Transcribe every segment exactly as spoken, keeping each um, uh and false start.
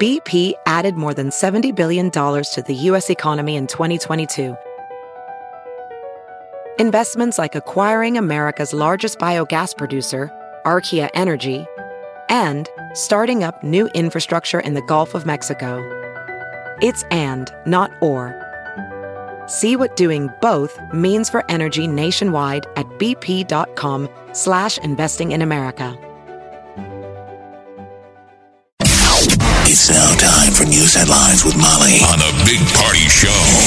B P added more than seventy billion dollars to the U S economy in twenty twenty-two. Investments like acquiring America's largest biogas producer, Archaea Energy, and starting up new infrastructure in the Gulf of Mexico. It's and, not or. See what doing both means for energy nationwide at bp.com slash investing in America. It's now time for news headlines with Molly on the Big Party Show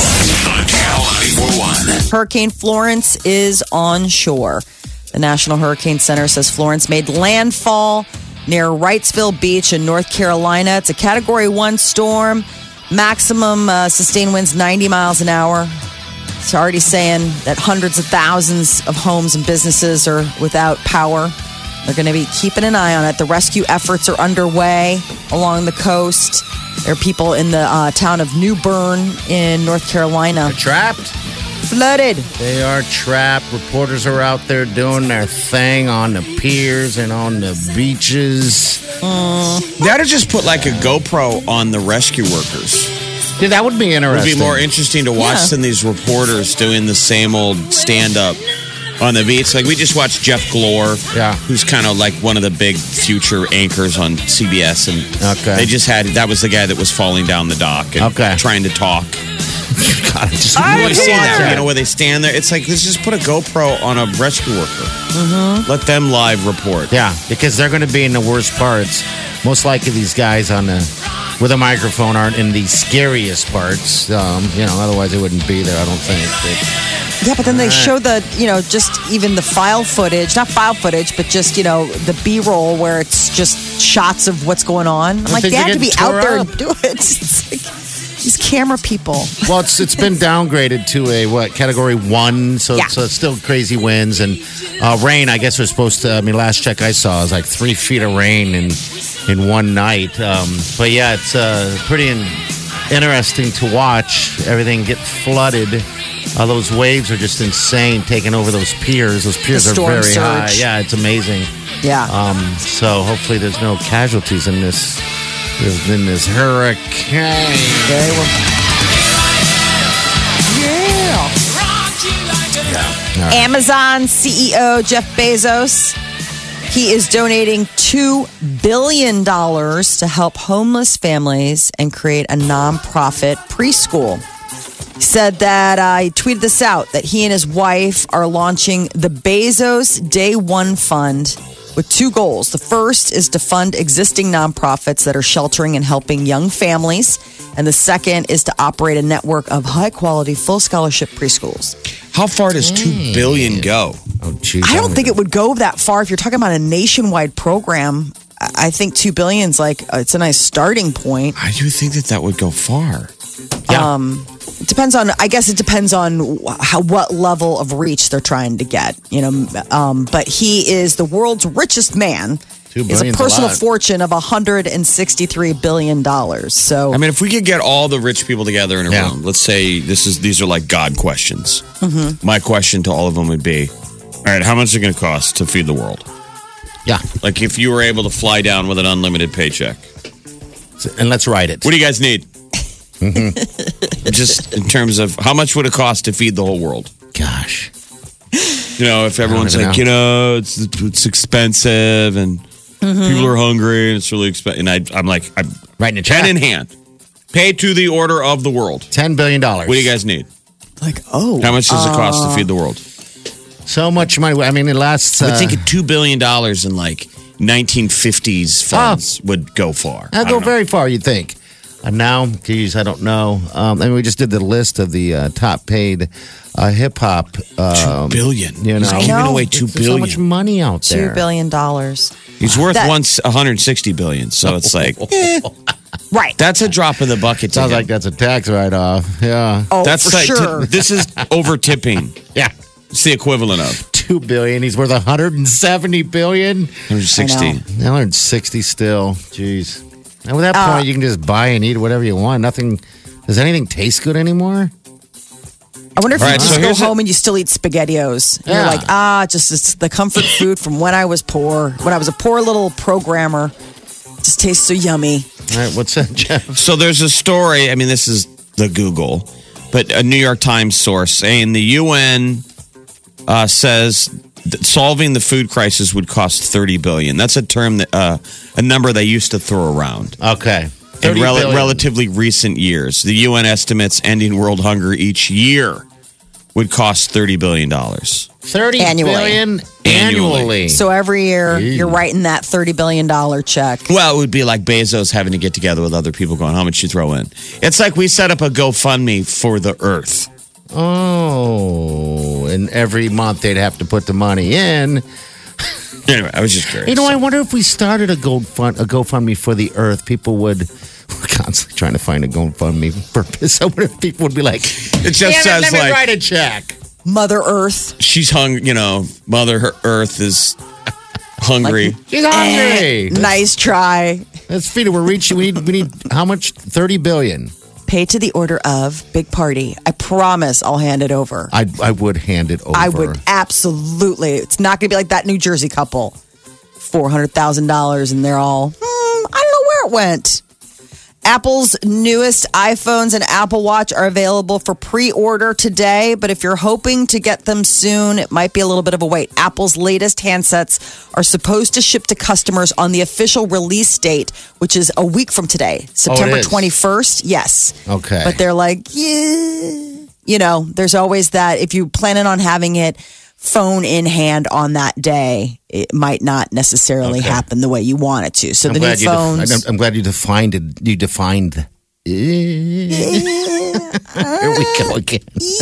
on Channel ninety-four point one. Hurricane Florence is on shore. The National Hurricane Center says Florence made landfall near Wrightsville Beach in North Carolina. It's a Category one storm. Maximum uh, sustained winds ninety miles an hour. It's already saying that hundreds of thousands of homes and businesses are without power. They're going to be keeping an eye on it. The rescue efforts are underway along the coast. There are people in the uh, town of New Bern in North Carolina. They're trapped. Flooded. They are trapped. Reporters are out there doing their thing on the piers and on the beaches. Mm. They ought to just put like a GoPro on the rescue workers. Yeah, that would be It would interesting. be more interesting to watch Yeah. than these reporters doing the same old stand-up on the beach. Like, we just watched Jeff Glor, Yeah. who's kind of like one of the big future anchors on C B S. And Okay. they just had, that was the guy that was falling down the dock and Okay. trying to talk. God, just You would have seen that, that. you know, where they stand there. It's like, let's just put a GoPro on a rescue worker. Mm-hmm. Let them live report. Yeah, because they're going to be in the worst parts. Most likely, these guys on the with a microphone aren't in the scariest parts. Um, you know, otherwise they wouldn't be there. I don't think. But, Yeah, but then they show the, you know, just even the file footage, not file footage, but just, you know, the B-roll where it's just shots of what's going on. I'm like, think they they're have to be getting out tore there up. and do it. It's like these camera people. well, it's it's been downgraded to a what category one, so Yeah. it's, uh, still crazy winds and uh, rain. I guess was supposed to. I mean, last check I saw was like three feet of rain in in one night. Um, but yeah, it's uh, pretty in, interesting to watch everything get flooded. Uh, those waves are just insane, taking over those piers. Those piers The are storm very high. surge. Yeah, it's amazing. Yeah. Um, so hopefully there's no casualties in this in this hurricane. They were. Yeah. Amazon C E O Jeff Bezos, he is donating two billion dollars to help homeless families and create a nonprofit preschool. He said that, uh, he tweeted this out, that he and his wife are launching the Bezos Day One Fund with two goals. The first is to fund existing nonprofits that are sheltering and helping young families. And the second is to operate a network of high-quality, full scholarship preschools. How far does two billion go? Oh, geez. I don't think it would go that far. If you're talking about a nationwide program, I I think two billion's like, uh, it's a nice starting point. I do think that that would go far. Yeah. Um, it depends on, I guess it depends on how, what level of reach they're trying to get, you know. Um, but he is the world's richest man. Two He has a billion's a personal lot. fortune of one hundred sixty-three billion dollars. So, I mean, if we could get all the rich people together in a Yeah. room, let's say this is these are like God questions. Mm-hmm. My question to all of them would be, all right, how much is it going to cost to feed the world? Yeah. Like if you were able to fly down with an unlimited paycheck. And let's write it. What do you guys need? Just in terms of how much would it cost to feed the whole world? Gosh. You know, if everyone's even like, know. you know, it's it's expensive and people are hungry and it's really expensive. And I, I'm like, I'm Writing a pen check. in hand. Pay to the order of the world. ten billion dollars. What do you guys need? like, oh. How much does it cost to feed the world? So much money. I mean, it lasts. I would Uh, think two billion dollars in like nineteen fifties funds would go far. I'll I go don't know. very far, you'd think. And now, geez, I don't know. Um, I mean, we just did the list of the uh, top paid uh, hip hop. Um, Two billion. You know, He's giving know. away two There's billion. so much money out there. Two billion dollars. He's worth That- one hundred sixty billion. So it's like, eh, Right. that's a drop in the bucket. To Sounds him. like that's a tax write-off. Yeah. oh, That's for like, sure. this is over tipping. Yeah. It's the equivalent of Two billion. He's worth one hundred seventy billion. one hundred sixty. I one hundred sixty still. Jeez. And with that Uh, point, you can just buy and eat whatever you want. Nothing. Does anything taste good anymore? I wonder if All you right, just so go here's a- home and you still eat SpaghettiOs. And You're Yeah. like, ah, just it's the comfort food from when I was poor, when I was a poor little programmer. Just tastes so yummy. All right, what's that, Jeff? So there's a story. I mean, this is the Google, but a New York Times source saying the U N uh, says that solving the food crisis would cost thirty billion dollars. That's a term that uh, a number they used to throw around. Okay. In rel- relatively recent years, the U N estimates ending world hunger each year would cost thirty billion dollars. thirty Annually. billion annually. So every year, Jeez. you're writing that thirty billion dollars check. Well, it would be like Bezos having to get together with other people going, how much you throw in? It's like we set up a GoFundMe for the earth. Oh, and every month they'd have to put the money in. Anyway, I was just curious. You know, I wonder if we started a GoFund, a GoFundMe for the earth, people would. We're constantly trying to find a GoFundMe purpose. I wonder if people would be like, It just "Damn it, says let me like write a check. Mother Earth. she's hung. You know, Mother Earth is hungry. She's hungry. Eh, nice try. Let's feed it. We're reaching. We need. We need how much? Thirty billion. Pay to the order of big party. I promise I'll hand it over. I I would hand it over. I would absolutely. It's not going to be like that New Jersey couple. four hundred thousand dollars and they're all, hmm, I don't know where it went. Apple's newest iPhones and Apple Watch are available for pre-order today, but if you're hoping to get them soon, it might be a little bit of a wait. Apple's latest handsets are supposed to ship to customers on the official release date, which is a week from today, September is. twenty-first. Yes. Okay. But they're like, yeah. You know, there's always that. If you're planning on having it phone in hand on that day, it might not necessarily Okay. happen the way you want it to. So I'm the new glad you. phones. Def- I'm, I'm glad you defined it. You defined. Here we go again.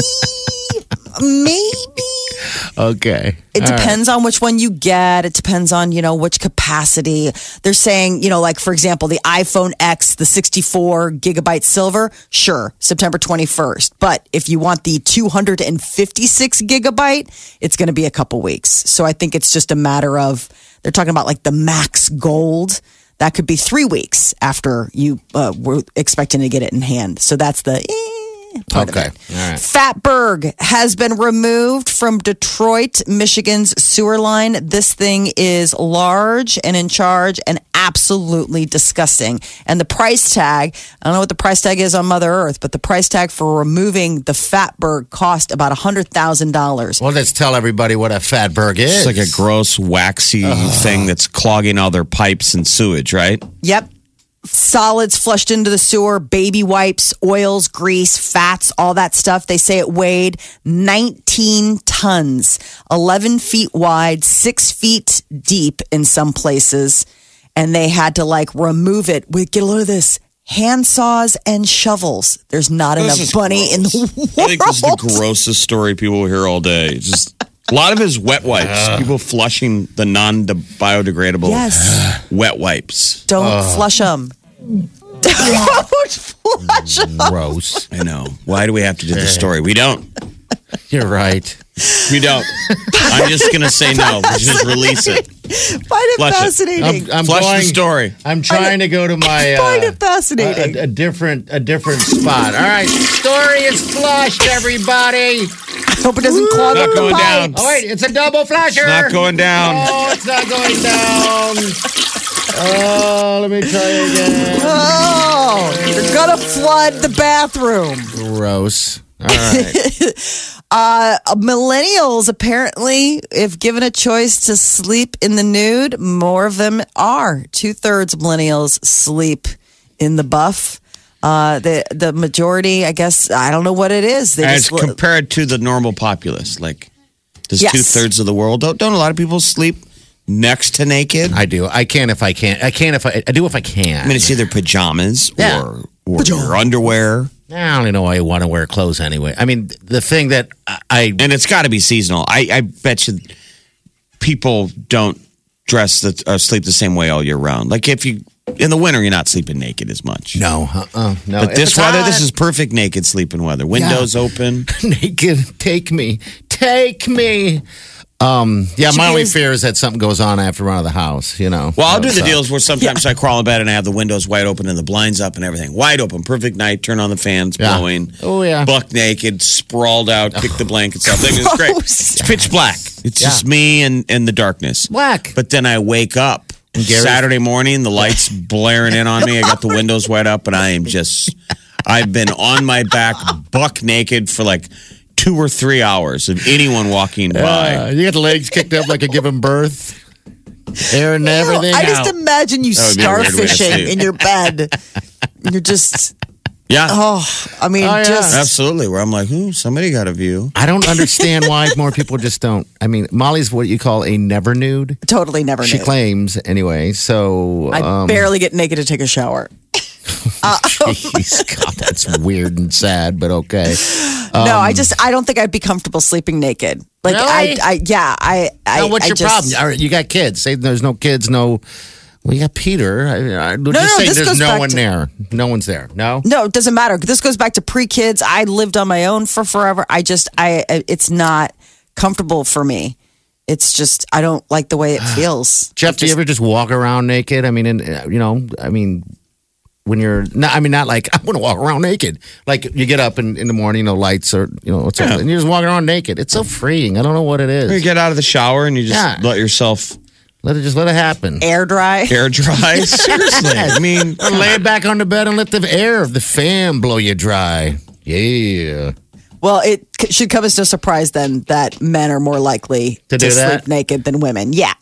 Maybe. Okay. It All right. depends on which one you get. It depends on, you know, which capacity. They're saying, you know, like, for example, the iPhone X, the sixty-four gigabyte silver, sure, September twenty-first. But if you want the two hundred fifty-six gigabyte, it's going to be a couple weeks. So I think it's just a matter of, they're talking about like the Max Gold. That could be three weeks after you uh, were expecting to get it in hand. So that's the eh, part Okay. of it. All right. Fatberg has been removed from Detroit, Michigan's sewer line. This thing is large and in charge and absolutely disgusting. And the price tag, I don't know what the price tag is on Mother Earth, but the price tag for removing the Fatberg cost about one hundred thousand dollars. Well, let's tell everybody what a fatberg is. It's like a gross, waxy thing that's clogging all their pipes and sewage, right? Yep. Solids flushed into the sewer, baby wipes, oils, grease, fats, all that stuff. They say it weighed nineteen tons, eleven feet wide, six feet deep in some places. And they had to like remove it with, get a load of this, hand saws and shovels. There's not This enough is money in the gross. world. I think this is the grossest story people will hear all day. Just a lot of his wet wipes. People flushing the non-biodegradable Yes. wet wipes. Don't flush them. Don't flush them. gross. I know. Why do we have to do the story? We don't. You're right. We don't. I'm just going to say no. Just release it. Find it Flush it. fascinating. I'm, I'm Flush going, the story. I'm trying to go to my. Find uh, it fascinating. A, a, a different, a different spot. All right, story is flushed, everybody. Hope it doesn't clog Not up the going down. pipes. Oh wait, it's a double flusher. Not going down. Oh, it's not going down. Oh, let me try again. Oh, you're gonna flood the bathroom. Gross. All right. Uh, millennials apparently, if given a choice to sleep in the nude, more of them are. Two thirds millennials sleep in the buff. Uh, the the majority, I guess, I don't know what it is. They As just compared to the normal populace, like does Yes. two thirds of the world don't, don't a lot of people sleep next to naked? I I do. I can if I can. I can if I. I do if I can. mean, it's either pajamas Yeah. or or your underwear, I don't even know why you want to wear clothes anyway. I mean, the thing that I, I and it's got to be seasonal. I, I bet you people don't dress the uh, sleep the same way all year round. Like if you in the winter, you're not sleeping naked as much. no, uh-uh, no. But If this it's weather, hot, this is perfect naked sleeping weather. Windows open. naked. Take me, take me. Um, yeah, Should my be only as- fear is that something goes on after run of the house. You know. Well, I'll do the So- deals where sometimes I crawl in bed and I have the windows wide open and the blinds up and everything. Wide open, perfect night, turn on the fans, Yeah. blowing. Oh, yeah. Buck naked, sprawled out, kick the blankets up. It's great. Gross. It's pitch black. It's Yeah. just me and, and the darkness. Black. But then I wake up Saturday morning, the lights blaring in on me. I got the windows wide up, and I am just, I've been on my back, buck naked for like two or three hours of anyone walking by. Uh, you got the legs kicked up like a given birth. Air and everything. I just out. imagine you That would be a weird way to starfishing sleep. in your bed. You're just, Yeah. oh, I mean, Oh, yeah. just. Absolutely. Where I'm like, hmm, somebody got a view. I don't understand why more people just don't. I mean, Molly's what you call a never nude. Totally never She knew. claims anyway. So I um, barely get naked to take a shower. Jeez, God, that's weird and sad, but okay. no, I just I don't think I'd be comfortable sleeping naked. Like Really? I, I yeah, I, I. Now, what's I your just, problem? All right, you got kids. Say there's no kids, no. Well, you got Peter. I, I, just no, say this there's goes no back one to- there. No one's there. No. No, it doesn't matter. This goes back to pre-kids. I lived on my own for forever. I just I it's not comfortable for me. It's just I don't like the way it feels. Jeff, It do you just- ever just walk around naked? I mean, and, uh, you know, I mean, when you're not, I mean, not like I want to walk around naked. Like you get up in, in the morning, you know, lights or you know, what's up, and you're just walking around naked. It's so freeing. I don't know what it You is. get out of the shower and you just Yeah. let yourself Let it just let it happen. air dry? air dry. Seriously. I mean, Or lay back on the bed and let the air of the fan blow you dry. Yeah. Well, it c- should come as no surprise then that men are more likely To to, do that? sleep naked than women. Yeah.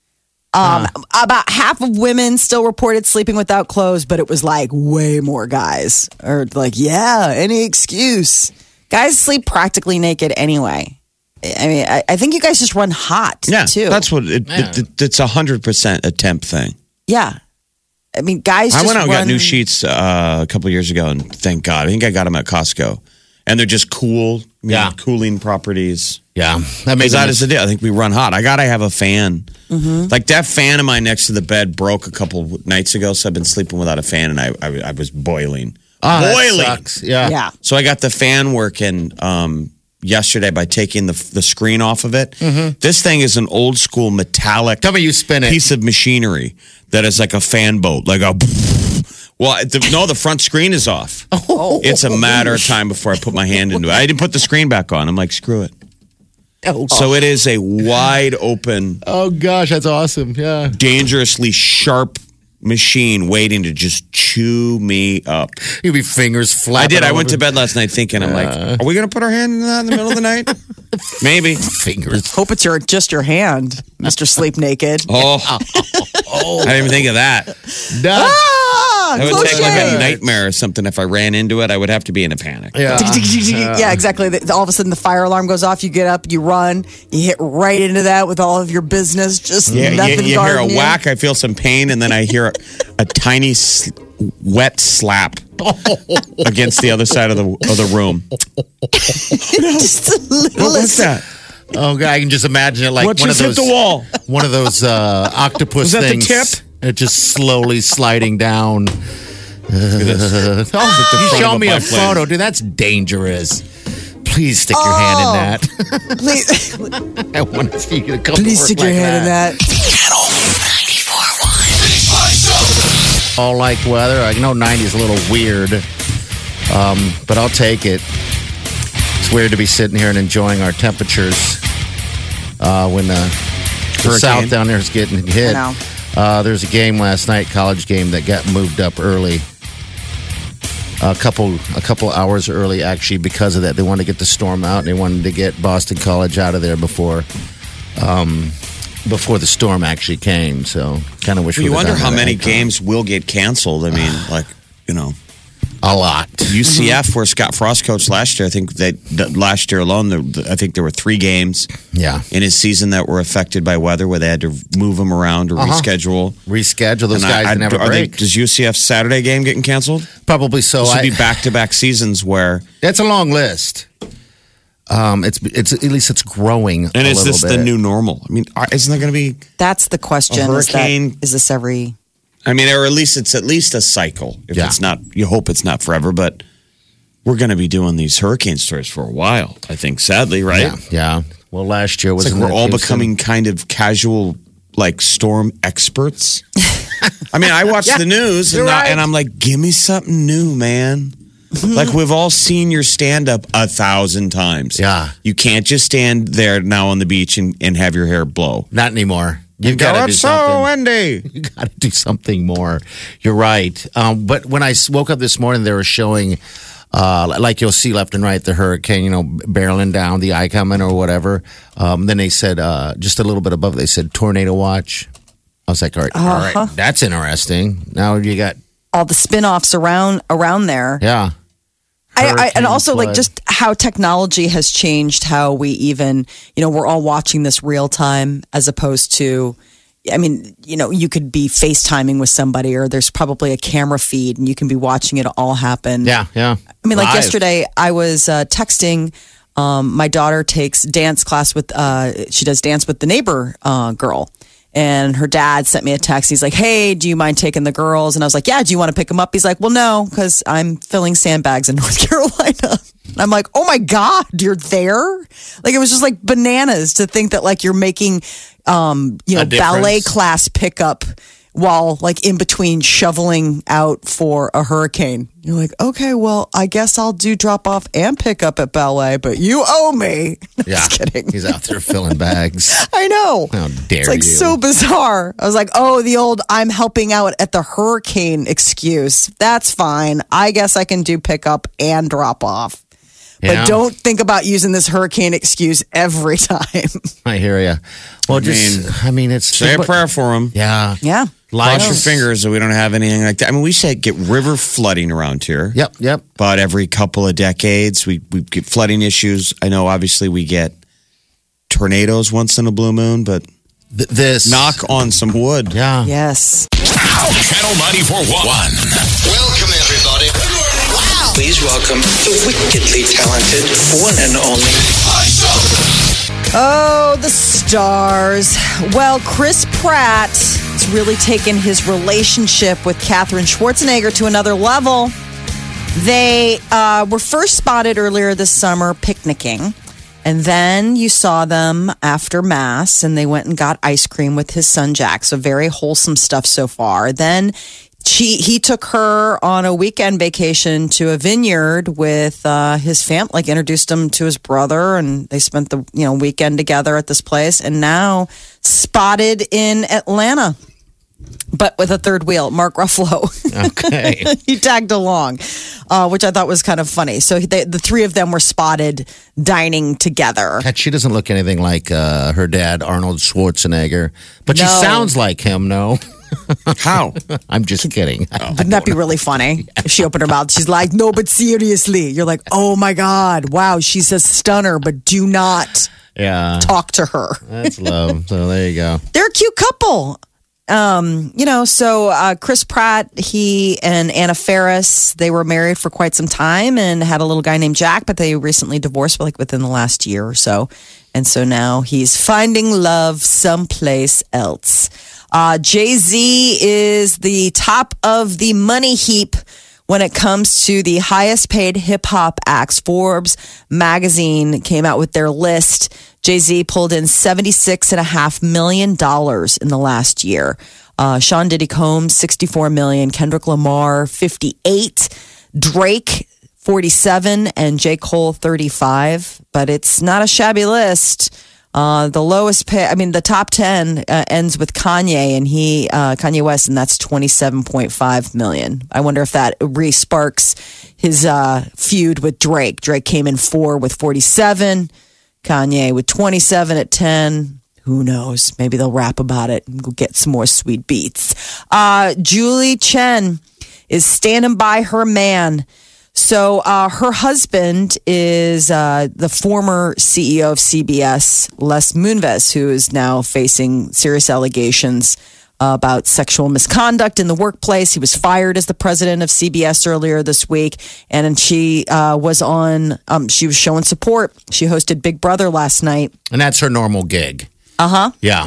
Um, About half of women still reported sleeping without clothes, but it was like way more guys are like, yeah, any excuse. Guys sleep practically naked anyway. I mean, I, I think you guys just run hot yeah, too. that's what it, Yeah. it, it, it's a hundred percent a temp thing. yeah. I mean, guys. I just went out and got run- new sheets uh, a couple of years ago, and thank God, I think I got them at Costco, and they're just cool, I mean, Yeah. cooling properties. Yeah. That Because makes that is the deal. I think we run hot. I gotta have a fan. Like that fan of mine next to the bed broke a couple nights ago, so I've been sleeping without a fan, and I I, I was boiling, Oh, that boiling. sucks. Yeah. Yeah. So I got the fan working um, yesterday by taking the the screen off of it. This thing is an old school metallic Tell me you spin it. piece of machinery that is like a fan boat, like a. Well, the, no, the front screen is off. Oh. It's a matter of time before I put my hand into it. I didn't put the screen back on. I'm like, screw it. Oh, So it is a wide open, oh gosh, that's awesome. Yeah. dangerously sharp machine waiting to just chew me up. You'd be fingers I flapping. did. I all went to over. bed last night thinking, I'm like, are we going to put our hand in that in the middle of the night? Maybe. Fingers. Hope it's your just your hand, Mister Sleep Naked. Oh, I didn't even think of that. Done. Ah, That would close take like a shave. nightmare or something. If I ran into it, I would have to be in a panic. Yeah. Yeah, exactly. The- All of a sudden, the fire alarm goes off. You get up, you run, you hit right into that with all of your business. Just Yeah, nothing you, you hear a guarding you. whack, I feel some pain, and then I hear a, a tiny s- wet slap against the other side of the of the room. Just a little. What was that? Oh god, I can just imagine it like What one just of hit those the wall? one of those uh, octopus Was that the things. tip? It just slowly sliding down. Look at this. Oh, the you front show of a me a biplane. photo, dude. That's dangerous. Please stick your hand in that. Please, I want to see you come to please work stick like your hand in that. Channel ninety-four point one. All like weather. I know ninety is a little weird, um, but I'll take it. It's weird to be sitting here and enjoying our temperatures uh, when uh, the Hurricane. south down there is getting hit. I know. Uh, there's a game last night, college game, that got moved up early. A couple, a couple hours early, actually, because of that. They wanted to get the storm out, and they wanted to get Boston College out of there before, um, before the storm actually came. So, kind of wish we You would've wonder done how that many ahead of time. games will get canceled. I mean, like, you know, A lot. U C F, where Scott Frost coached last year, I think that that last year alone, there, I think there were three games Yeah. in his season that were affected by weather, where they had to move them around or Uh-huh. reschedule. Reschedule those And I- guys I- that never are they- break. does U C F's Saturday game getting canceled? Probably so. This would I, be back-to-back seasons where, that's a long list. Um, it's it's at least it's growing. and a is little this bit. the new normal? I mean, are- isn't there going to be? That's the question. A Is, that, hurricane. is this every? I mean, or at least it's at least a cycle. If Yeah. it's not, you hope it's not forever, but we're going to be doing these hurricane stories for a while. I think, sadly, right? Yeah, yeah. Well, last year was It's like we're all becoming kind of casual, like storm experts. I mean, I watch the news and, you're I, right. and I'm like, give me something new, man. Like we've all seen your stand up a thousand times. Yeah. You can't just stand there now on the beach and, and have your hair blow. Not anymore. You've got to Go, do it's so something. windy. You got to do something more. You're right. Um, but when I s- woke up this morning, they were showing, uh, like you'll see left and right, the hurricane, you know, barreling down, the eye coming or whatever. Um, then they said, uh, just a little bit above, they said tornado watch. I was like, all right, all Uh-huh. right, that's interesting. Now you got, All the spin-offs around around there. yeah. I, I, and Hurricane, also like flood. just how technology has changed how we even, you know, we're all watching this real time as opposed to, I mean, you know, you could be FaceTiming with somebody or there's probably a camera feed and you can be watching it all happen. Yeah, yeah. I mean, like Live. yesterday, I was uh, texting. Um, my daughter takes dance class with. Uh, she does dance with the neighbor uh, girl, and her dad sent me a text. He's like, "Hey, do you mind taking the girls?" And I was like, "Yeah." Do you want to pick them up? He's like, "Well, no, because I'm filling sandbags in North Carolina." And I'm like, "Oh my god, you're there!" Like it was just like bananas to think that like you're making, um, you know, A difference. ballet class pickup while like in between shoveling out for a hurricane. You're like, okay, well, I guess I'll do drop off and pick up at ballet, but you owe me. Yeah. Just kidding. He's out there filling bags. I know. How dare It's like you. so bizarre. I was like, oh, the old I'm helping out at the hurricane excuse. That's fine. I guess I can do pickup and drop off. Yeah. But don't think about using this hurricane excuse every time. I hear you. Well, just, mean, I mean, it's. Say a prayer for them. Yeah. Yeah. Cross your Life. fingers that we don't have anything like that. I mean, we said get river flooding around here. Yep, yep. But every couple of decades, we, we get flooding issues. I know, obviously, we get tornadoes once in a blue moon, but Th- this. knock on some wood. Yeah. Yes. Channel ninety-four point one. Welcome, everybody. Wow. Please welcome the wickedly talented one and only. Oh, the stars. Well, Chris Pratt has really taken his relationship with Katherine Schwarzenegger to another level. They uh, were first spotted earlier this summer picnicking. And then you saw them after Mass, and they went and got ice cream with his son Jack. So very wholesome stuff so far. Then she he took her on a weekend vacation to a vineyard with uh, his fam. Like introduced him to his brother, and they spent the you know weekend together at this place. And now spotted in Atlanta, but with a third wheel, Mark Ruffalo. Okay. He tagged along, uh, which I thought was kind of funny. So they, the three of them were spotted dining together. God, she doesn't look anything like uh, her dad, Arnold Schwarzenegger. But she No. sounds like him, no? How? I'm just kidding. Wouldn't that be really funny if she opened her mouth? She's like, no, but seriously. You're like, oh my God, wow, she's a stunner, but do not Yeah. talk to her. That's love. So there you go. They're a cute couple. Um, you know, so uh, Chris Pratt, he and Anna Faris, they were married for quite some time and had a little guy named Jack, but they recently divorced like within the last year or so. And so now he's finding love someplace else. Uh, Jay-Z is the top of the money heap when it comes to the highest paid hip hop acts. Forbes magazine came out with their list. Jay-Z pulled in seventy-six and a half million dollars in the last year. Uh, Sean Diddy Combs, sixty-four million. Kendrick Lamar, fifty-eight. Drake, forty-seven. And J. Cole, thirty-five. But it's not a shabby list. Uh, the lowest pay, I mean, the top ten uh, ends with Kanye and he, uh, Kanye West, and that's twenty-seven point five million. I wonder if that re-sparks his uh, feud with Drake. Drake came in four with forty-seven. Kanye with twenty-seven at ten. Who knows? Maybe they'll rap about it and go get some more sweet beats. Uh, Julie Chen is standing by her man. So uh, her husband is uh, the former C E O of C B S, Les Moonves, who is now facing serious allegations uh, about sexual misconduct in the workplace. He was fired as the president of C B S earlier this week, and she uh, was on. Um, she was showing support. She hosted Big Brother last night. And that's her normal gig. Uh huh. Yeah.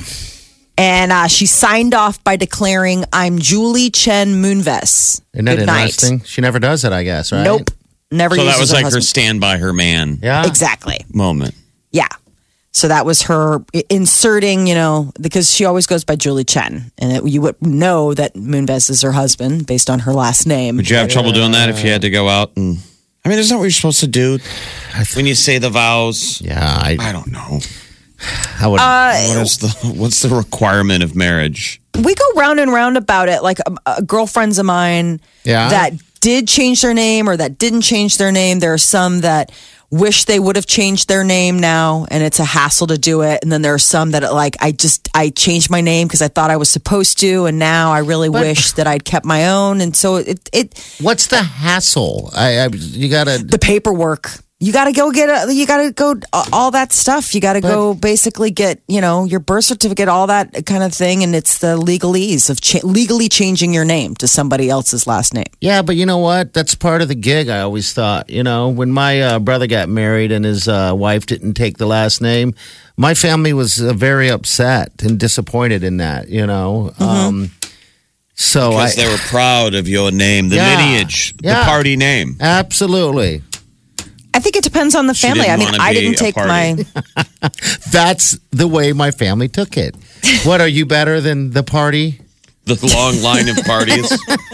And uh, she signed off by declaring, "I'm Julie Chen Moonves." Isn't that Good night. interesting? She never does it, I guess, right? Nope. Never. So that uses was her like her husband. stand by her man Yeah. Exactly. moment. Yeah. So that was her inserting, you know, because she always goes by Julie Chen. And it, you would know that Moonves is her husband based on her last name. Would you have trouble doing that if you had to go out and? I mean, isn't that what you're supposed to do when you say the vows? Yeah. I, I don't know. I would. What is the what's the requirement of marriage? We go round and round about it. Like uh, uh, girlfriends of mine Yeah. that did change their name or that didn't change their name. There are some that wish they would have changed their name now, and it's a hassle to do it. And then there are some that like I just I changed my name because I thought I was supposed to, and now I really But- wish that I'd kept my own. And so it it What's the hassle? I, I you gotta. the paperwork. You got to go get a, you got to go uh, all that stuff. You got to go basically get, you know, your birth certificate, all that kind of thing. And it's the legalese of cha- legally changing your name to somebody else's last name. Yeah, but you know what? That's part of the gig. I always thought. You know, when my uh, brother got married and his uh, wife didn't take the last name, my family was uh, very upset and disappointed in that. You know. Mm-hmm. Um, so Because I they were proud of your name, the Yeah. lineage, Yeah. the party name. I absolutely. think it depends on the She family. I didn't mean, wanna I be didn't a take party. my. That's the way my family took it. What, are you better than the party? The long line of parties.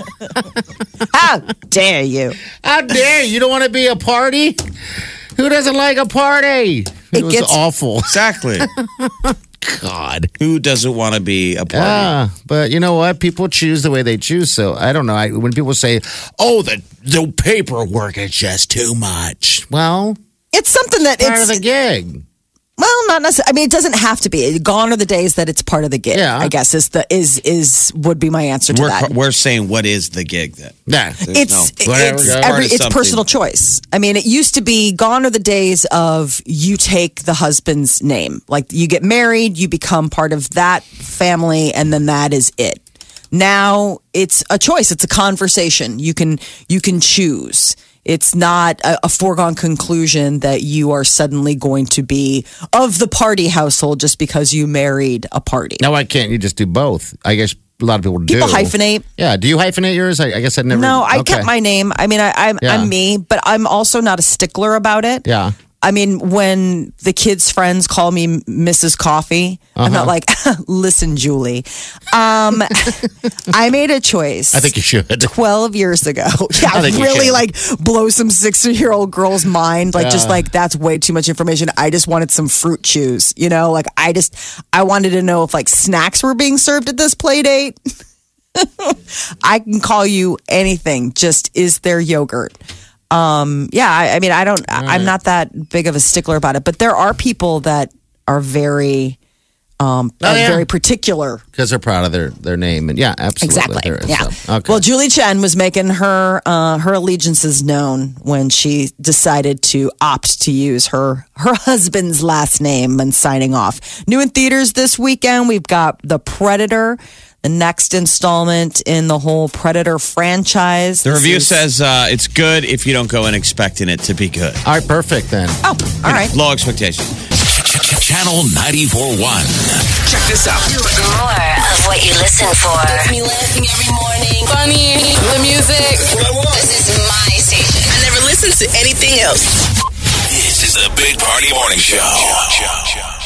How dare you? How dare you? You don't want to be a party? Who doesn't like a party? It, It was gets- awful. Exactly. God. Who doesn't want to be a party? Yeah, but you know what? People choose the way they choose. So I don't know. I, when people say, "Oh, the the paperwork is just too much," well, It's something that part it's of the gig. well, not necessarily. I mean, it doesn't have to be. Gone are the days that it's part of the gig. Yeah. I guess is the is is would be my answer to We're, that. we're saying, what is the gig then? Yeah, There's It's no- Whatever, it's go. every Part of it's something. personal choice. I mean, it used to be gone are the days of you take the husband's name. Like you get married, you become part of that family, and then that is it. Now it's a choice. It's a conversation. You can you can choose. It's not a, a foregone conclusion that you are suddenly going to be of the party household just because you married a party. now why can't you just do both? I guess a lot of people do. People hyphenate. Yeah, do you hyphenate yours? I, I guess I never. No, I okay. kept my name. I mean, I, I'm Yeah. I'm me, but I'm also not a stickler about it. Yeah. I mean, when the kids' friends call me Missus Coffee, I'm not like, listen, Julie. Um, I made a choice. I think you should. twelve years ago. Yeah, I think you really should. like blow some six year old girl's mind. Like, just Yeah. like, that's way too much information. I just wanted some fruit chews, you know? Like, I just, I wanted to know if like snacks were being served at this play date. I can call you anything. Just, is there yogurt? Um, yeah, I, I mean, I don't, I, I'm not that big of a stickler about it, but there are people that are very, um, Oh, are yeah. very particular. Because they're proud of their, their name. And yeah, absolutely. Exactly. There is, Yeah. so, okay. Well, Julie Chen was making her uh, her allegiances known when she decided to opt to use her her husband's last name and signing off. New in theaters this weekend, we've got The Predator, the next installment in the whole Predator franchise. The This review is- says uh, it's good if you don't go in expecting it to be good. All right, perfect then. "Oh, all right." Low expectations. Channel ninety-four point one. Check this out. More of what you listen for. Gets me laughing every morning. Funny, the music. This is my station. I never listen to anything else. This is the Big Party Morning Show.